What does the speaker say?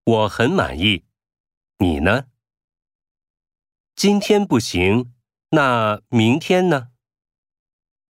我很满意。你呢？今天不行，那明天呢？